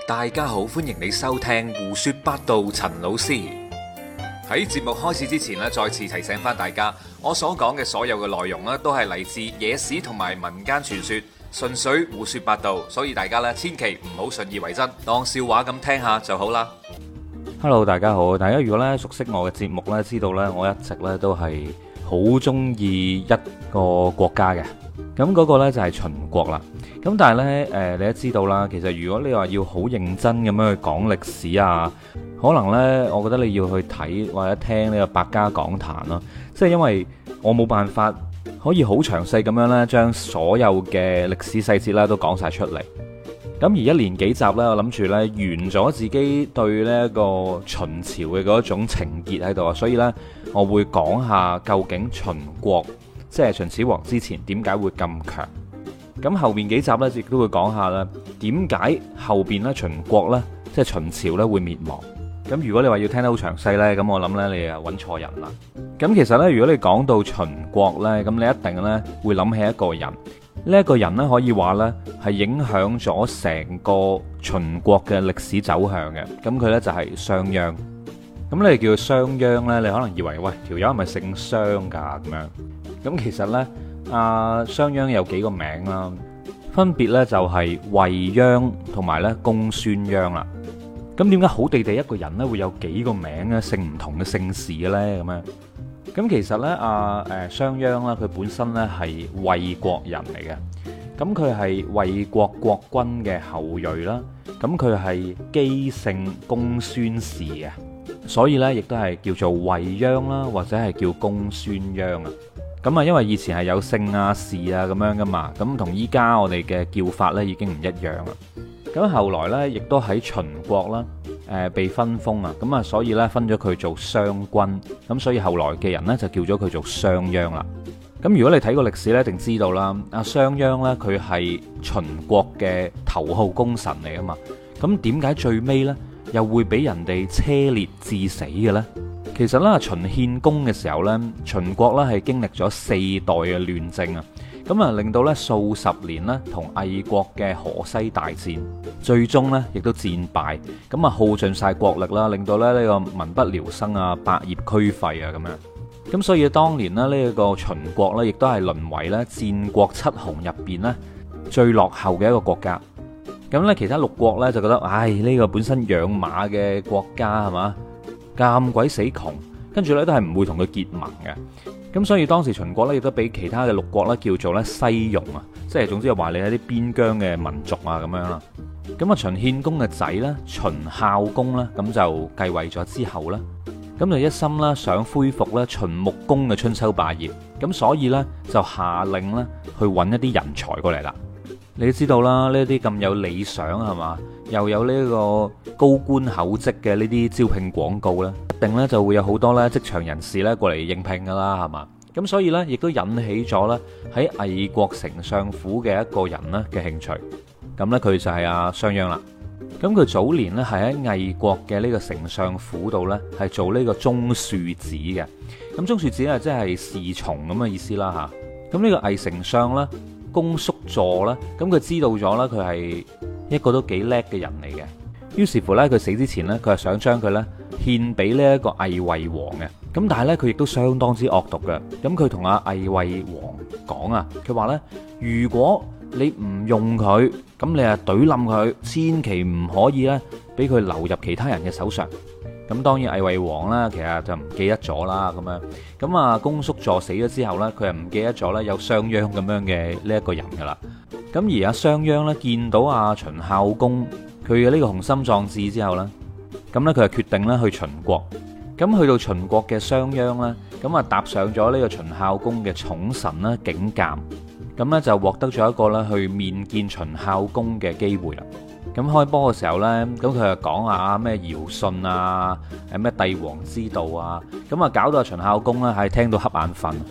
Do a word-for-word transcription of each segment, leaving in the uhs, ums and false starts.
大家好，歡迎你收聽胡說八道。陳老師喺節目開始之前咧，再次提醒翻大家，我所講嘅所有嘅內容咧，都係嚟自野史同埋民間傳說，純粹胡說八道，所以大家咧千祈唔好信以為真，當笑話咁聽下就好啦。 Hello， 大家好，大家如果咧熟悉我嘅節目咧，知道咧我一直咧都係好中意一個國家嘅，咁嗰個咧就係秦國啦。咁但係咧，誒，你都知道啦，其實如果你話要好認真咁樣去講歷史啊，可能咧，我覺得你要去睇或者聽呢個百家講壇咯，即係因為我冇辦法可以好詳細咁樣咧，將所有嘅歷史細節咧都講晒出嚟。咁而一連幾集呢，我諗住呢完咗自己對呢一個秦朝嘅嗰種情結喺度啊，所以呢，我會講下究竟秦國即係秦始皇之前點解會咁強。咁後面幾集呢，亦都會講下啦，點解後邊呢秦國呢，即係秦朝呢會滅亡。咁如果你話要聽得好詳細呢，咁我諗呢，你啊揾錯人啦。咁其實呢，如果你講到秦國呢，咁你一定呢會諗起一個人。呢一個人呢，可以話呢係影響咗成個秦國嘅歷史走向嘅。咁佢呢就係商鞅。咁你叫佢商鞅呢，你可能以為喂條友係咪姓商噶咁樣？咁其實呢，阿商鞅有幾個名啦，分別呢就係衛鞅同埋呢公孫鞅啦。咁點解好地地一個人呢會有幾個名呢？姓唔同嘅姓氏嘅呢？咁樣？咁其實咧，阿誒商鞅啦，佢本身咧係衛國人嚟嘅。咁佢係衛國國君嘅後裔啦。咁佢係姬姓公孫氏嘅，所以咧亦都係叫做衛鞅啦，或者係叫公孫鞅啊。咁啊，因為以前係有姓啊、氏啊咁樣噶嘛，咁同依家我哋嘅叫法咧已經唔一樣啦。咁後來咧，亦都喺秦國啦。誒被分封啊，咁啊，所以咧分咗佢做商君，咁所以後來嘅人呢，就叫咗佢做商鞅啦。咁如果你睇過歷史呢，一定知道啦，阿商鞅呢，佢係秦國嘅頭號功臣嚟啊嘛。咁點解最尾呢，又會俾人哋車裂致死嘅呢？其實呢，秦獻公嘅時候呢，秦國呢係經歷咗四代嘅亂政啊。咁啊，令到咧數十年咧同魏國嘅河西大戰，最終咧亦都戰敗，咁啊耗盡晒國力啦，令到咧呢個民不聊生啊，百業俱廢啊咁樣。咁所以當年咧呢一個秦國咧，亦都係淪為咧戰國七雄入邊咧最落後嘅一個國家。咁咧其他六國咧就覺得，唉，呢個本身養馬嘅國家係嘛，咁鬼死窮，跟住咧都係唔會同佢結盟嘅。咁所以當時秦國咧亦都俾其他嘅六國咧叫做咧西戎啊，即係總之係話你係啲邊疆嘅民族啊咁樣啦。咁啊秦獻公嘅仔咧秦孝公咧咁就繼位咗之後咧，咁就一心啦想恢復咧秦穆公嘅春秋霸業，咁所以咧就下令咧去揾一啲人才過嚟啦。你都知道啦，呢啲咁有理想係嘛，又有呢個高官厚職嘅呢啲招聘廣告咧，一定咧就會有好多咧職場人士咧過嚟應聘噶啦，係嘛？咁所以咧，亦都引起咗咧喺魏國丞相府嘅一個人咧嘅興趣。咁咧佢就係阿商鞅啦。咁佢早年咧係喺魏國嘅呢個丞相府度咧係做呢個中庶子嘅。咁中庶子啊，即係侍從咁嘅意思啦吓。咁呢個魏丞相咧，公叔痤啦，咁佢知道咗啦，佢係一個都幾叻嘅人嚟嘅。於是乎呢，佢死之前呢，佢係想將佢呢獻俾呢一個魏惠王嘅。咁但係呢，佢亦都相當之惡毒嘅。咁佢同阿魏惠王講啊，佢話呢：「如果你唔用佢，咁你啊懟冧佢，千祈唔可以呢俾佢流入其他人嘅手上。」咁當然魏惠王啦，其實就唔記得咗啦，咁樣咁啊，公叔痤死咗之後呢，佢又唔記得咗呢有商鞅咁樣嘅呢一個人噶啦。咁而阿商鞅呢，見到阿秦孝公佢嘅呢個雄心壯志之後呢，咁呢，佢就決定呢去秦國。咁去到秦國嘅商鞅呢，咁啊搭上咗呢個秦孝公嘅寵臣啦景監，咁呢，就獲得咗一個呢去面見秦孝公嘅機會啦。咁開波嘅時候呢，咁佢就講下咩堯舜啊，誒咩帝王之道啊，咁啊搞到秦孝公呢係聽到瞌眼瞓。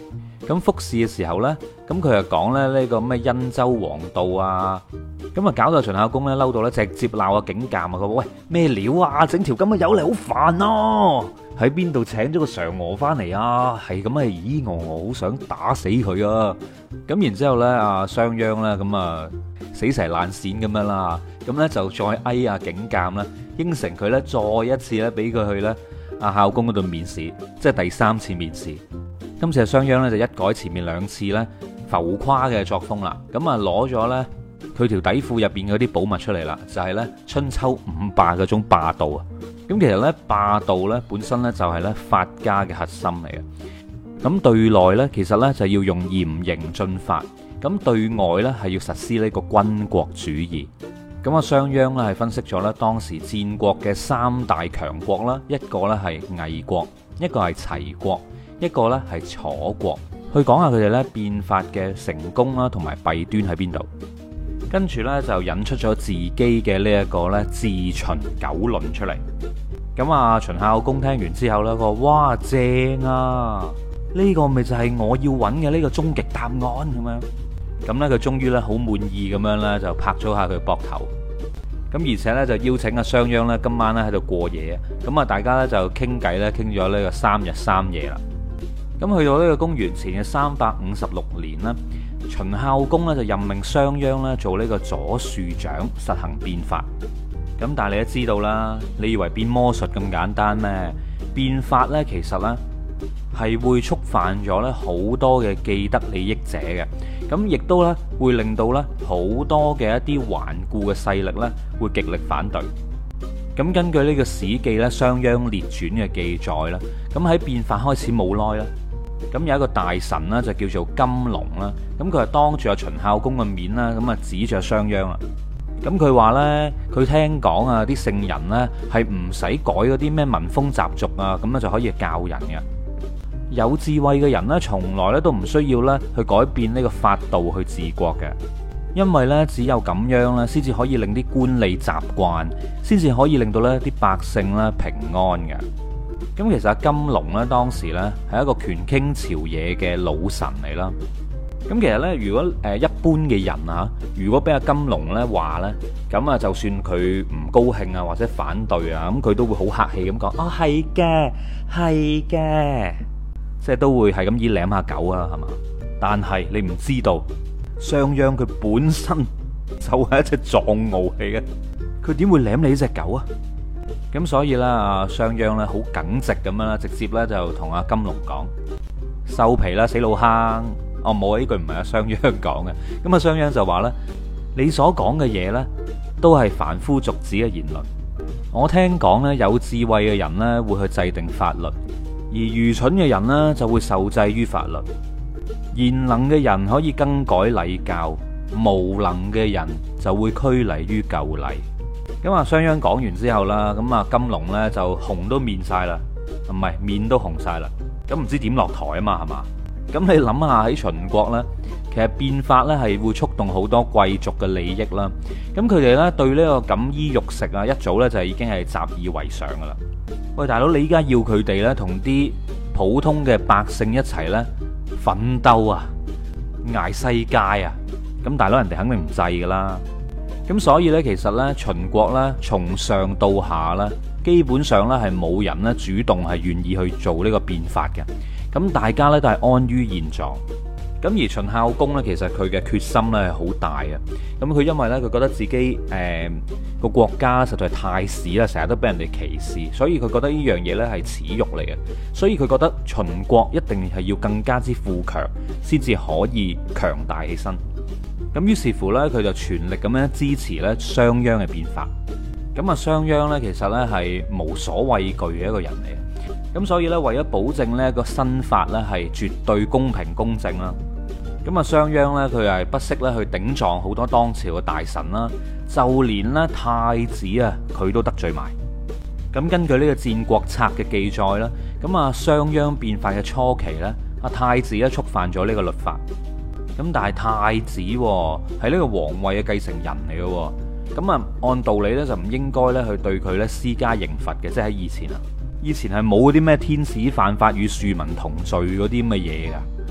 咁復試嘅時候呢，咁佢就講咧呢個咩殷周王道啊，咁啊搞到秦孝公咧嬲到咧直接鬧阿景監啊！佢話喂，咩料啊，整條咁嘅友嚟好煩咯，喺邊度請咗個嫦娥翻嚟啊？係咁啊，咦我我好想打死佢啊！咁然之後咧，阿商鞅咧咁啊死蛇爛鱔咁樣啦，咁咧就再哀阿景監啦，應承佢咧再一次咧俾佢去咧阿孝公嗰度面試，即係第三次面試。今次阿商鞅咧就一改前面兩次咧浮誇嘅作風啦，咁啊攞咗咧佢條底褲入邊嗰啲寶物出嚟啦，就係咧春秋五霸嗰種霸道啊！咁其實咧霸道咧本身咧就係咧法家嘅核心嚟嘅。咁對內咧其實咧就要用嚴刑峻法，咁對外咧係要實施呢個軍國主義。咁啊商鞅咧係分析咗咧當時戰國嘅三大強國啦，一個咧係魏國，一個係齊國，一個咧係楚國，去講下佢哋咧變法嘅成功啦，同埋弊端喺邊度。跟住咧就引出咗自己嘅呢一個咧自秦九論出嚟。咁啊秦孝公聽完之後咧，佢話哇正啊，呢個咪就係我要揾嘅呢個終極答案咁樣。咁咧佢終於咧好滿意咁樣咧就拍咗下佢膊頭。咁而且咧就邀請阿商鞅咧今晚咧喺度過夜啊。咁啊大家咧就傾偈咧傾咗呢個三日三夜啦。咁去到呢個公元前嘅三百五十六年啦，秦孝公咧就任命商鞅咧做呢個左庶長，實行變法。咁但係你都知道啦，你以為變魔術咁簡單咩？變法呢其實呢係會觸犯咗咧好多嘅既得利益者嘅，咁亦都咧會令到咧好多嘅一啲頑固嘅勢力咧會極力反對。咁根據呢個史記咧《商鞅列傳》嘅記載啦，咁喺變法開始冇耐啦，咁有一個大臣啦就叫做金龍啦，咁佢係當住阿秦孝公嘅面啦，咁啊指住阿商鞅啦。咁佢話呢，佢聽講啊，啲聖人呢係唔使改嗰啲咩民風習俗啊，咁咧就可以教人嘅。有智慧嘅人呢，從來咧都唔需要咧去改變呢個法度去治國嘅，因為呢，只有咁樣咧，先至可以令啲官吏習慣，先至可以令到呢啲百姓咧平安嘅。咁其實阿金龍呢，當時呢係一個權傾朝野嘅老臣嚟啦。咁其實呢，如果誒一般嘅人啊，如果俾阿金龍呢話呢，咁啊就算佢唔高興啊或者反對啊，咁佢都會好客氣咁講，哦係嘅，係嘅，即係都會係咁以舐下狗啊，係嘛？但係你唔知道，商鞅佢本身就係一隻藏獒嚟嘅，佢點會舐你呢隻狗啊？咁所以呢，阿商鞅呢好耿直咁樣啦，直接呢就同阿金龍講，收皮啦，死老坑！哦，冇啊！呢句唔係阿商鞅講嘅。咁阿商鞅就話呢，你所講嘅嘢呢，都係凡夫俗子嘅言論。我聽講呢，有智慧嘅人呢會去制定法律，而愚蠢嘅人呢就會受制於法律。賢能嘅人可以更改禮教，無能嘅人就會拘泥於舊禮。咁啊，商鞅講完之後啦，咁啊金龍呢就紅都面晒啦，唔係面都紅晒啦。咁唔知點落台啊嘛，係嘛？咁你諗下喺秦國呢，其實變法呢係會觸動好多貴族嘅利益啦。咁佢哋呢對呢個錦衣玉食啊，一早呢就已經係習以為常噶啦。喂，大佬，你依家要佢哋呢同啲普通嘅百姓一齊呢奮鬥啊，捱世界啊，咁大佬人哋肯定唔制噶啦。咁所以呢，其實呢秦國呢從上到下呢，基本上呢係冇人呢主動係願意去做呢個變法嘅。咁大家咧都係安於現狀，咁而秦孝公咧，其實佢嘅決心咧係好大嘅。咁佢因為咧佢覺得自己誒個、呃、國家實在太屎啦，成日都俾人哋歧視，所以佢覺得呢樣嘢咧係恥辱嚟嘅。所以佢覺得秦國一定係要更加之富強，先至可以強大起身。咁於是乎咧，佢就全力咁樣支持咧商鞅嘅變法。咁啊，商鞅咧其實咧係無所畏懼嘅一個人嚟嘅。咁所以咧，為咗保證呢個新法咧係絕對公平公正啦，咁啊商鞅咧佢係不惜咧去頂撞好多當朝嘅大臣啦，就連咧太子啊佢都得罪埋。咁根據呢個《戰國策》嘅記載啦，咁啊商鞅變法嘅初期咧，阿太子咧觸犯咗呢個律法。咁但係太子係呢個皇位嘅繼承人嚟嘅，咁啊按道理咧就唔應該咧去對佢咧施加刑罰嘅，即係喺以前啊。以前係冇啲咩天子犯法與庶民同罪嗰啲咁嘅嘢噶，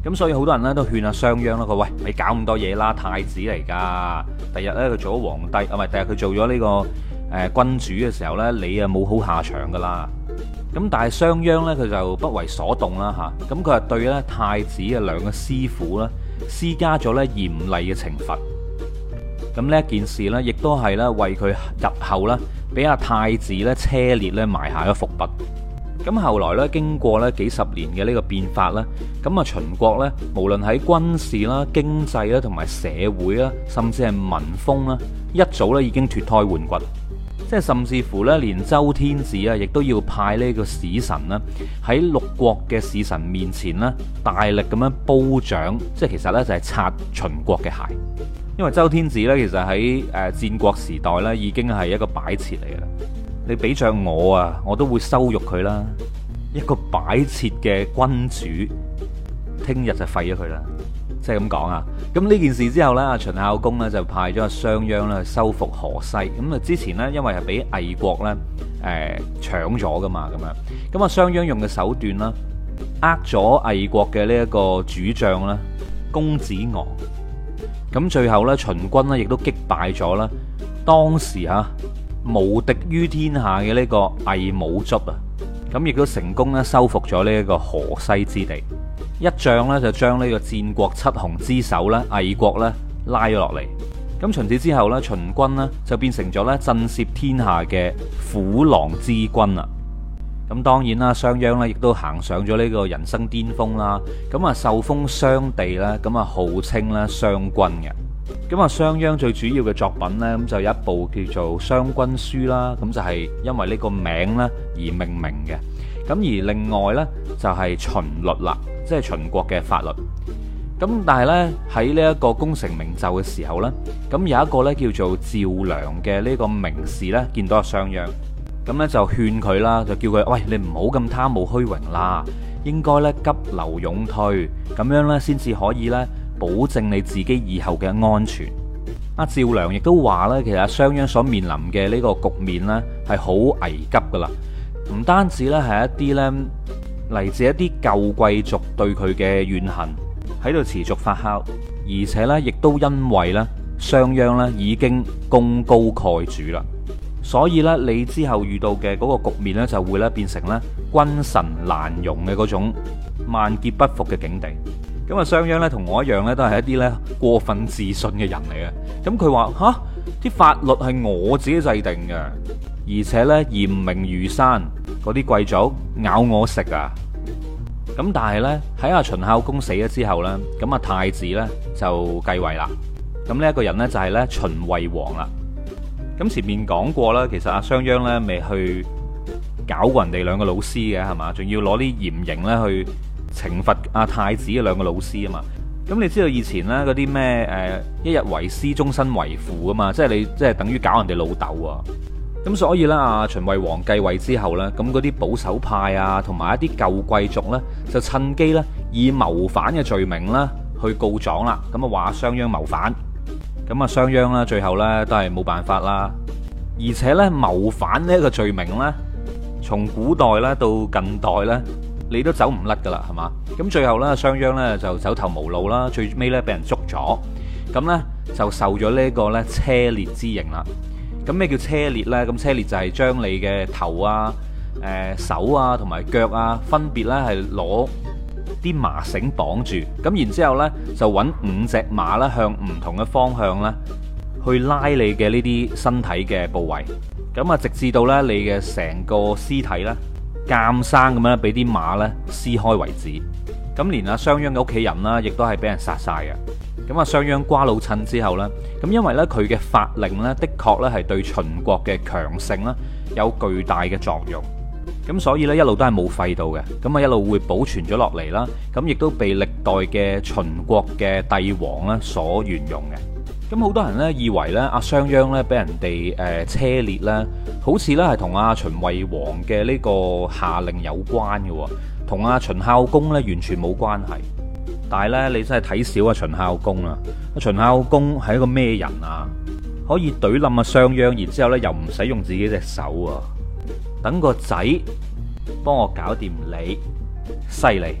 咁所以好多人咧都勸阿商鞅啦，佢喂，你搞咁多嘢啦，太子嚟噶，第日咧佢做咗皇帝，啊唔係，第日佢做咗呢、這個誒、呃、君主嘅時候咧，你啊冇好下場噶啦。咁但係商鞅咧佢就不為所動啦吓，咁佢係對咧太子嘅兩個師傅咧施加咗咧嚴厲嘅懲罰。咁呢一件事咧，亦都係咧為佢日後咧俾阿太子咧車裂咧埋下咗伏筆。咁後來咧，經過咧幾十年嘅呢個變法咧，咁啊秦國咧，無論喺軍事啦、經濟啦，同埋社會啦，甚至係民風啦，一早咧已經脫胎換骨。即係甚至乎咧，連周天子啊，亦都要派呢個使臣啦，喺六國嘅使臣面前咧，大力咁樣褒獎，即係其實咧就係擦秦國嘅鞋。因為周天子咧，其實喺誒戰國時代咧，已經係一個擺設嚟嘅啦。你比着我啊，我都會羞辱佢啦。一個擺設嘅君主，聽日就廢咗佢啦。即係咁講啊。咁呢件事之後呢，秦孝公呢就派咗阿商鞅咧去收復河西。咁啊之前呢，因為係俾魏國呢誒搶咗噶嘛，咁樣。咁啊商鞅用嘅手段啦，呃咗魏國嘅呢一個主將啦，公子昂。咁最後呢，秦軍呢亦都擊敗咗啦，當時嚇無敵於天下嘅呢個魏武卒啊。咁亦都成功咧收復咗呢一個河西之地。一仗咧就將呢個戰國七雄之首咧魏國咧拉咗落嚟。咁從此之後咧，秦軍呢就變成咗咧震懾天下嘅虎狼之軍啦。咁當然啦，商鞅咧亦都行上咗呢個人生巔峰啦。咁啊受封商地咧，咁啊號稱咧商君嘅。咁啊商鞅最主要嘅作品咧，咁就有一部叫做《商君書》啦。咁就係因為呢個名咧而命名嘅。咁而另外呢，就係秦律啦，即係秦國嘅法律。咁但係呢，喺呢一個功成名就嘅時候呢，咁有一個呢叫做趙良嘅呢個名士呢，見到阿商鞅，咁呢就勸佢啦，就叫佢喂，你唔好咁貪慕虛榮啦，應該呢急流勇退，咁樣呢先至可以呢保證你自己以後嘅安全。阿趙良亦都話呢，其實阿商鞅所面臨嘅呢個局面呢，係好危急噶啦。唔單止咧係一啲咧嚟自一啲舊貴族對佢嘅怨恨喺度持續發酵，而且咧亦都因為咧商鞅咧已經功高蓋主啦，所以咧你之後遇到嘅嗰個局面咧就會咧變成咧君臣難容嘅嗰種萬劫不復嘅境地。咁啊商鞅咧同我一樣咧都係一啲咧過分自信嘅人嚟嘅。咁佢話吓，啲法律係我自己制定嘅。而且咧嚴明如山，嗰啲貴族咬我食啊！咁但係咧喺阿秦孝公死咗之後咧，咁啊太子咧就繼位啦。咁呢一個人咧就係咧秦惠王啦。咁前面講過啦，其實阿商鞅咧未去搞過人哋兩個老師嘅係嘛，仲要攞啲嚴刑咧去懲罰阿太子嘅兩個老師啊嘛。咁你知道以前咧嗰啲咩誒一日為師，終身為父啊嘛，即係你即係等於搞人哋老豆啊。咁所以咧，阿秦惠王繼位之後咧，咁嗰啲保守派啊，同埋一啲舊貴族咧，就趁機咧以謀反嘅罪名咧去告狀啦。咁啊話商鞅謀反，咁啊商鞅咧最後咧都係冇辦法啦。而且咧謀反呢一個罪名咧，從古代咧到近代咧，你都走唔甩噶啦，係嘛？咁最後咧商鞅咧就走投無路啦，最尾咧俾人捉咗，咁咧就受咗呢個咧車裂之刑啦。咁咩叫車裂呢？咁車裂就係將你嘅頭啊、誒、呃、手啊同埋腳啊，分別呢係攞啲麻繩綁住，咁然之後呢就揾五隻馬咧向唔同嘅方向呢去拉你嘅呢啲身體嘅部位，咁啊直至到呢你嘅成個屍體呢監生咁樣俾啲馬呢撕開為止。咁連阿商鞅嘅屋企人啦，亦都係俾人殺晒嘅。咁啊，商鞅瓜老襯之後呢，咁因為呢，佢嘅法令呢，的確呢係對秦國嘅強盛呢有巨大嘅作用。咁所以呢，一路都係冇廢到嘅。咁啊，一路會保存咗落嚟啦。咁亦都被歷代嘅秦國嘅帝王呢所沿用嘅。咁好多人呢，以為呢，阿商鞅呢俾人哋誒車裂呢，好似呢係同阿秦惠王嘅呢個下令有關嘅，同阿秦孝公呢完全冇關係。但係咧，你真係睇少阿秦孝公啊！阿秦孝公係一個咩人啊？可以懟冧阿商鞅，然之後咧又唔使用自己隻手啊！等個仔幫我搞掂你，犀利！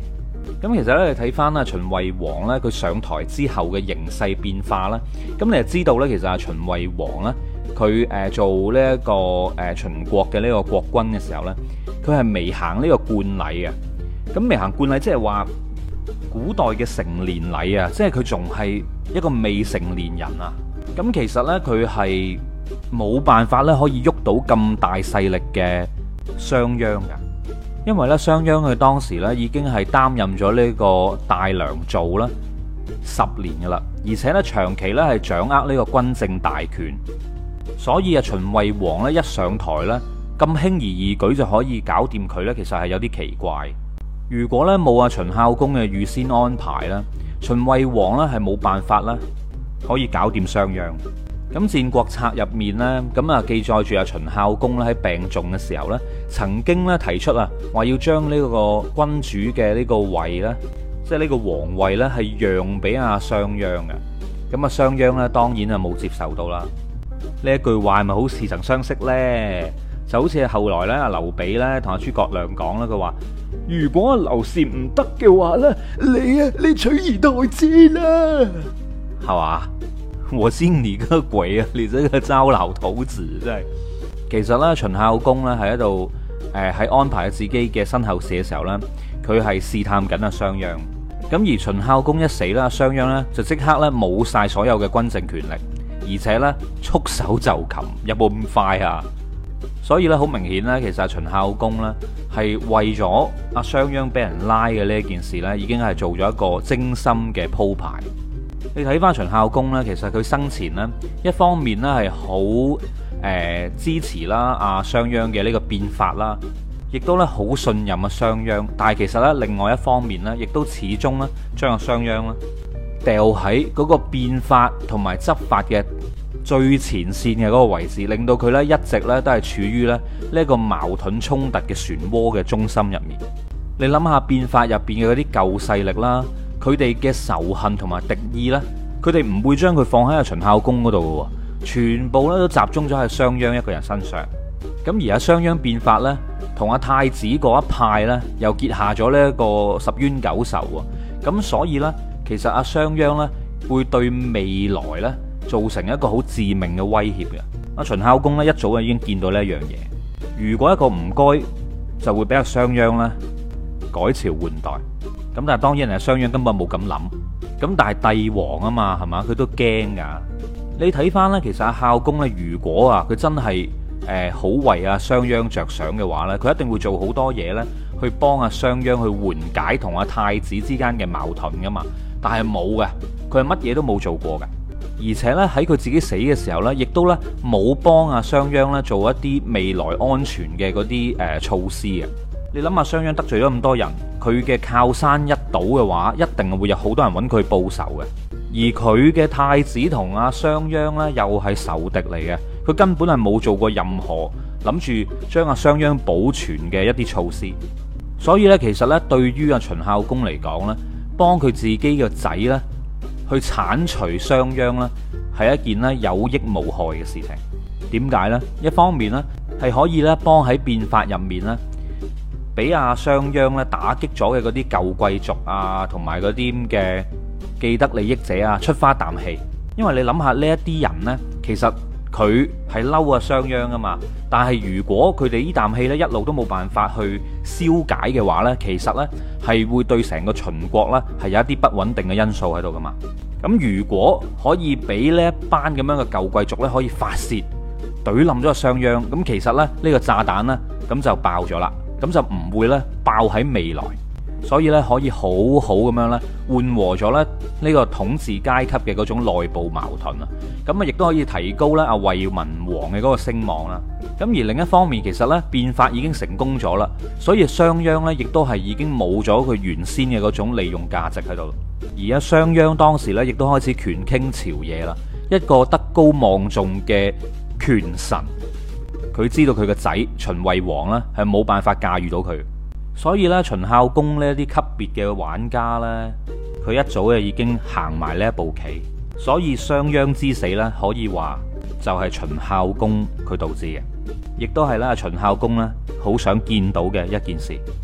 咁其實咧，你睇翻啦，秦惠王咧，佢上台之後嘅形勢變化啦，咁你就知道咧，其實阿秦惠王咧，佢誒做呢一個誒秦國嘅呢個國君嘅時候咧，佢係未行呢個冠禮嘅。咁未行冠禮，即係話古代嘅成年禮啊，即係佢仲係一個未成年人啊。咁其實咧，佢係冇辦法咧，可以喐到咁大勢力嘅商鞅噶。因為咧，商鞅佢當時咧已經係擔任咗呢個大良造啦十年噶啦，而且咧長期咧係掌握呢個軍政大權，所以啊秦惠王咧一上台咧咁輕而易舉就可以搞掂佢咧，其實係有啲奇怪。如果咧冇阿秦孝公嘅預先安排咧，秦惠王咧係冇辦法啦可以搞掂商鞅。咁《戰國策》入面呢，咁啊記載住阿秦孝公咧喺病重嘅時候呢，曾經咧提出啊，話要將呢個君主嘅呢個位呢，即係呢個皇位呢，係讓俾阿商鞅嘅。咁啊商鞅呢，當然啊冇接受到啦。呢一句話係咪好似曾相識呢？就好似後來咧阿劉備咧同阿諸葛亮講啦，佢話如果阿劉禪唔得嘅話呢，你啊你取而代之啦，係嘛？我信你個鬼啊！你這個糟老頭子真係。其實咧，秦孝公咧係喺度誒喺安排自己嘅身後事嘅時候咧，佢係試探緊阿商鞅。咁而秦孝公一死啦，商鞅咧就即刻咧冇晒所有嘅軍政權力，而且咧束手就擒，有冇咁快啊？所以咧好明顯咧，其實秦孝公咧係為咗阿商鞅俾人拉嘅呢一件事咧，已經係做咗一個精心嘅鋪排。你睇翻秦孝公呢，其實佢生前呢，一方面呢係好誒支持啦阿商鞅嘅呢個變法啦，亦都咧好信任阿商鞅。但係其實呢，另外一方面呢，亦都始終呢將阿商鞅呢掉喺嗰個變法同埋執法嘅最前線嘅嗰個位置，令到佢呢一直呢都係處於咧呢一個矛盾衝突嘅漩渦嘅中心入面。你諗下變法入邊嘅嗰啲舊勢力啦，佢哋嘅仇恨同埋敵意呢，佢哋唔會將佢放喺阿秦孝公嗰度嘅，全部咧都集中咗喺商鞅一個人身上。咁而阿商鞅變法呢，同阿太子嗰一派呢，又結下咗呢一個十冤九仇喎。咁所以呢，其實阿商鞅呢，會對未來呢造成一個好致命嘅威脅嘅。阿秦孝公呢，一早就已經見到呢一樣嘢，如果一個唔該，就會俾阿商鞅呢改朝換代。咁但係當然係商鞅根本冇咁諗，咁但係帝王啊嘛，係嘛，佢都驚噶。你睇翻呢，其實阿孝公呢，如果啊佢真係誒好為阿商鞅着想嘅話呢，佢一定會做好多嘢呢，去幫阿商鞅去緩解同阿太子之間嘅矛盾噶嘛。但係冇嘅，佢係乜嘢都冇做過嘅，而且呢，喺佢自己死嘅時候呢，亦都呢冇幫阿商鞅呢做一啲未來安全嘅嗰啲誒措施嘅。你諗下，商鞅得罪咗咁多人，佢嘅靠山一倒嘅話，一定會有好多人揾佢報仇嘅。而佢嘅太子同阿商鞅呢，又係仇敵嚟嘅，佢根本係冇做過任何諗住將阿商鞅保存嘅一啲措施。所以呢，其實呢，對於阿秦孝公嚟講呢，幫佢自己嘅仔呢去剷除商鞅呢，係一件呢有益無害嘅事情。點解呢？一方面呢，係可以呢幫喺變法入面呢，俾阿商鞅咧打擊咗嘅嗰啲舊貴族啊，同埋嗰啲嘅既得利益者啊，出花啖氣。因為你諗下呢一啲人呢，其實佢係嬲阿商鞅噶嘛，但係如果佢哋呢啖氣呢一路都冇辦法去消解嘅話呢，其實呢係會對成個秦國呢係有一啲不穩定嘅因素喺度噶嘛。咁如果可以俾呢一班咁樣嘅舊貴族呢可以發泄懟冧咗阿商鞅，咁其實呢，呢個炸彈呢咁就爆咗啦。咁就唔會咧爆喺未來，所以咧可以好好咁樣咧緩和咗咧呢個統治階級嘅嗰種內部矛盾啊，咁啊亦都可以提高咧阿惠文王嘅嗰個聲望啦。咁而另一方面，其實咧變法已經成功咗啦，所以商鞅咧亦都係已經冇咗佢原先嘅嗰種利用價值喺度。而家商鞅當時咧亦都開始權傾朝野啦，一個德高望重嘅權臣。佢知道佢個仔秦惠王呢係冇辦法駕馭到佢，所以呢，秦孝公呢啲級別嘅玩家呢，佢一早就已經行埋呢一步棋，所以商鞅之死呢，可以話就係秦孝公佢導致嘅，亦都係咧秦孝公呢好想見到嘅一件事。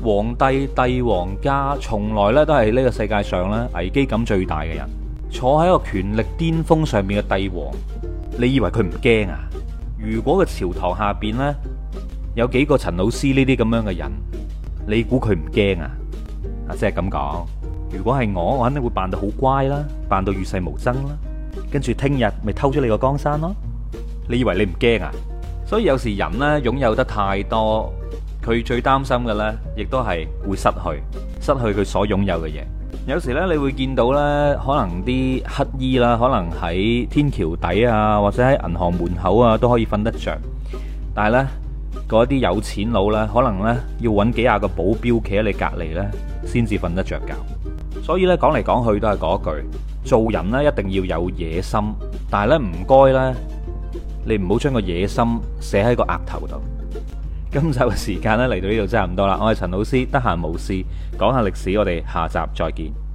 皇帝帝王家從來咧都係呢個世界上咧危機感最大嘅人，坐喺一個權力巔峰上面嘅帝王，你以為佢唔驚啊？如果個朝堂下邊呢，有幾個陳老師呢啲咁樣嘅人，你估佢唔驚啊？啊，即係咁講。如果係我，我肯定會扮到好乖啦，扮到與世無爭啦，跟住聽日咪偷咗你個江山咯。你以為你唔驚啊？所以有時人呢，擁有得太多，佢最擔心嘅呢，亦都係會失去，失去佢所擁有嘅嘢。有時呢，你會見到呢，可能啲乞衣啦，可能喺天橋底啊，或者喺銀行門口啊，都可以瞓得着。但係呢，嗰啲有錢佬呢，可能呢，要揾幾廿個保鏢企喺你隔離呢，先至瞓得着覺。所以呢，講嚟講去都係嗰句，做人呢，一定要有野心，但係呢，唔該呢，你唔好將個野心寫喺個額頭度。今集嘅時間咧嚟到呢度真係唔多啦，我係陳老師，得閒無事講下歷史，我哋下集再見。